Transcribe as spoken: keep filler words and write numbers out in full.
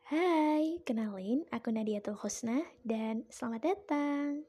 Hai, kenalin aku Nadiatul Husna dan selamat datang.